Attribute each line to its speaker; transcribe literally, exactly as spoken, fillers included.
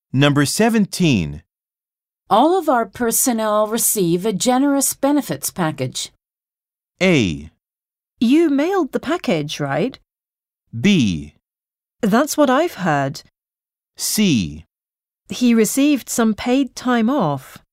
Speaker 1: Number seventeen.
Speaker 2: All of our personnel receive a generous benefits package.
Speaker 1: A.
Speaker 3: You mailed the package, right?
Speaker 1: B.
Speaker 3: That's what I've heard.
Speaker 1: C.
Speaker 3: He received some paid time off.